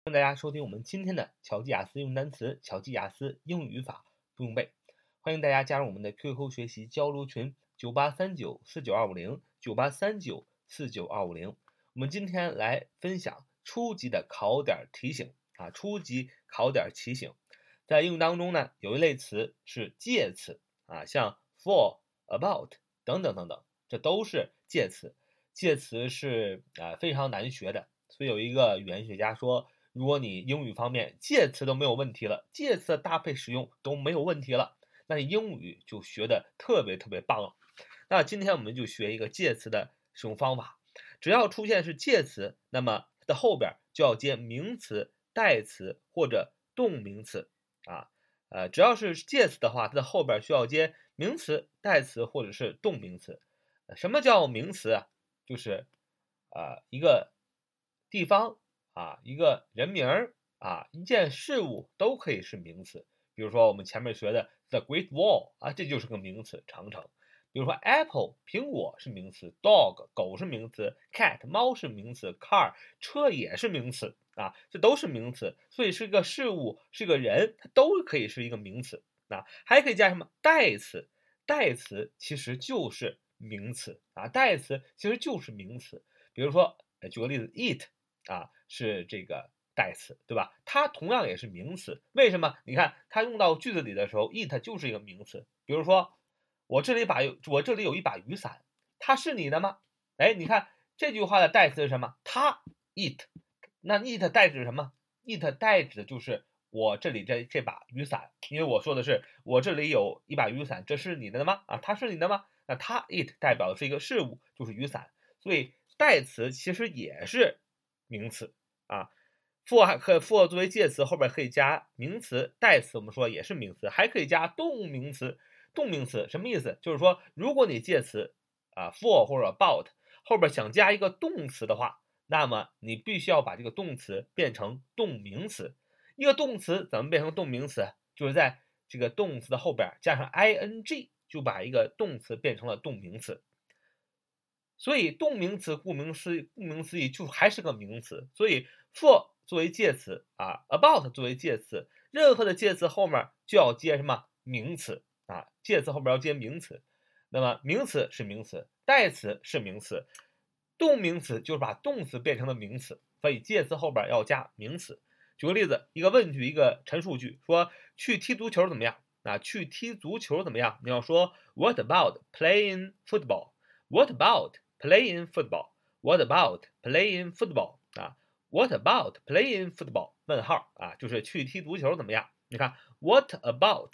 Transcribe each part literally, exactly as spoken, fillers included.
欢迎大家收听我们今天的巧记雅思用单词、巧记雅思英语语法不用背。欢迎大家加入我们的 Q Q 学习交流群九八三九四九二五零九八三九四九二五零。我们今天来分享初级的考点提醒啊，初级考点提醒。在英语当中呢，有一类词是介词啊，像 for、about 等等等等，这都是介词。介词是啊非常难学的，所以有一个语言学家说，如果你英语方面介词都没有问题了，介词的搭配使用都没有问题了，那你英语就学的特别特别棒了。那今天我们就学一个介词的使用方法，只要出现是介词，那么它的后边就要接名词、代词或者动名词啊。呃，只要是介词的话，它的后边需要接名词、代词或者是动名词。什么叫名词啊？就是呃一个地方啊，一个人名啊，一件事物都可以是名词。比如说我们前面学的 The Great Wall 啊，这就是个名词，长城。比如说 Apple 苹果是名词 ，Dog 狗是名词 ，Cat 猫是名词 ，Car 车也是名词啊，这都是名词。所以是个事物，是个人，它都可以是一个名词啊。还可以加什么代词？代词其实就是名词啊，代词其实就是名词。比如说，举个例子 ，eat 啊是这个代词，对吧？它同样也是名词。为什么？你看它用到句子里的时候 ，eat 就是一个名词。比如说，我这里把我这里有一把雨伞，它是你的吗？哎，你看这句话的代词是什么？它 eat， 那 eat 代指什么 ？eat 代指的就是我这里这这把雨伞，因为我说的是我这里有一把雨伞，这是你的吗？啊，它是你的吗？那它 it 代表的是一个事物，就是雨伞，所以代词其实也是名词啊。for 还可 for 作为介词，后边可以加名词，代词我们说也是名词，还可以加动名词。动名词什么意思？就是说，如果你介词啊 for 或者 about 后边想加一个动词的话，那么你必须要把这个动词变成动名词。一个动词怎么变成动名词？就是在这个动词的后边加上 ing， 就把一个动词变成了动名词。所以动名词顾名思顾名思义就还是个名词。所以 for 作为介词啊 ，about 作为介词，任何的介词后面就要接什么名词啊？介词后边要接名词。那么名词是名词，代词是名词，动名词就是把动词变成了名词。所以介词后边要加名词。举个例子，一个问句，一个陈述句，说去踢足球怎么样？啊，去踢足球怎么样？你要说 What about playing football? What about playing football? What about playing football? 啊 ，What about playing football? 问号啊，就是去踢足球怎么样？你看 What about?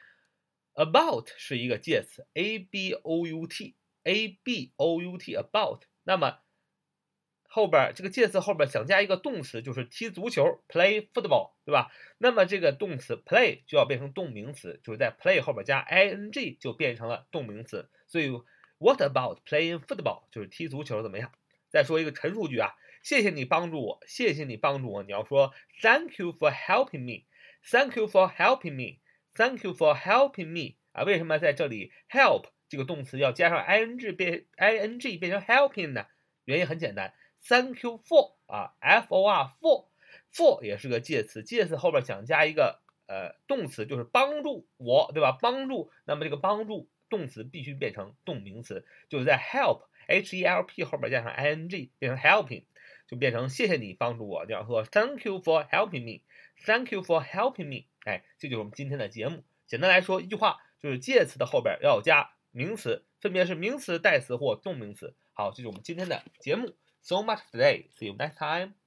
About 是一个介词 ，a b o u t，a b o u t about。那么后边这个介词后边想加一个动词，就是踢足球 play football， 对吧？那么这个动词 play 就要变成动名词，就是在 play 后边加 ing 就变成了动名词。所以 what about playing football 就是踢足球怎么样？再说一个陈述句啊，谢谢你帮助我，谢谢你帮助我。你要说 Thank you for helping me. Thank you for helping me. Thank you for helping me 啊，为什么在这里 help 这个动词要加上 ing 变 ing 变成 helping 呢？原因很简单。Thank you for 啊 ，for for for 也是个介词，介词后边想加一个呃动词，就是帮助我，对吧？帮助，那么这个帮助动词必须变成动名词，就是在 help h e l p 后边加上 ing 变成 helping， 就变成谢谢你帮助我。你要说 Thank you for helping me. Thank you for helping me. 哎，这就是我们今天的节目。简单来说，一句话就是介词的后边要加名词，分别是名词、代词或动名词。好，这是我们今天的节目。So much today. See you next time.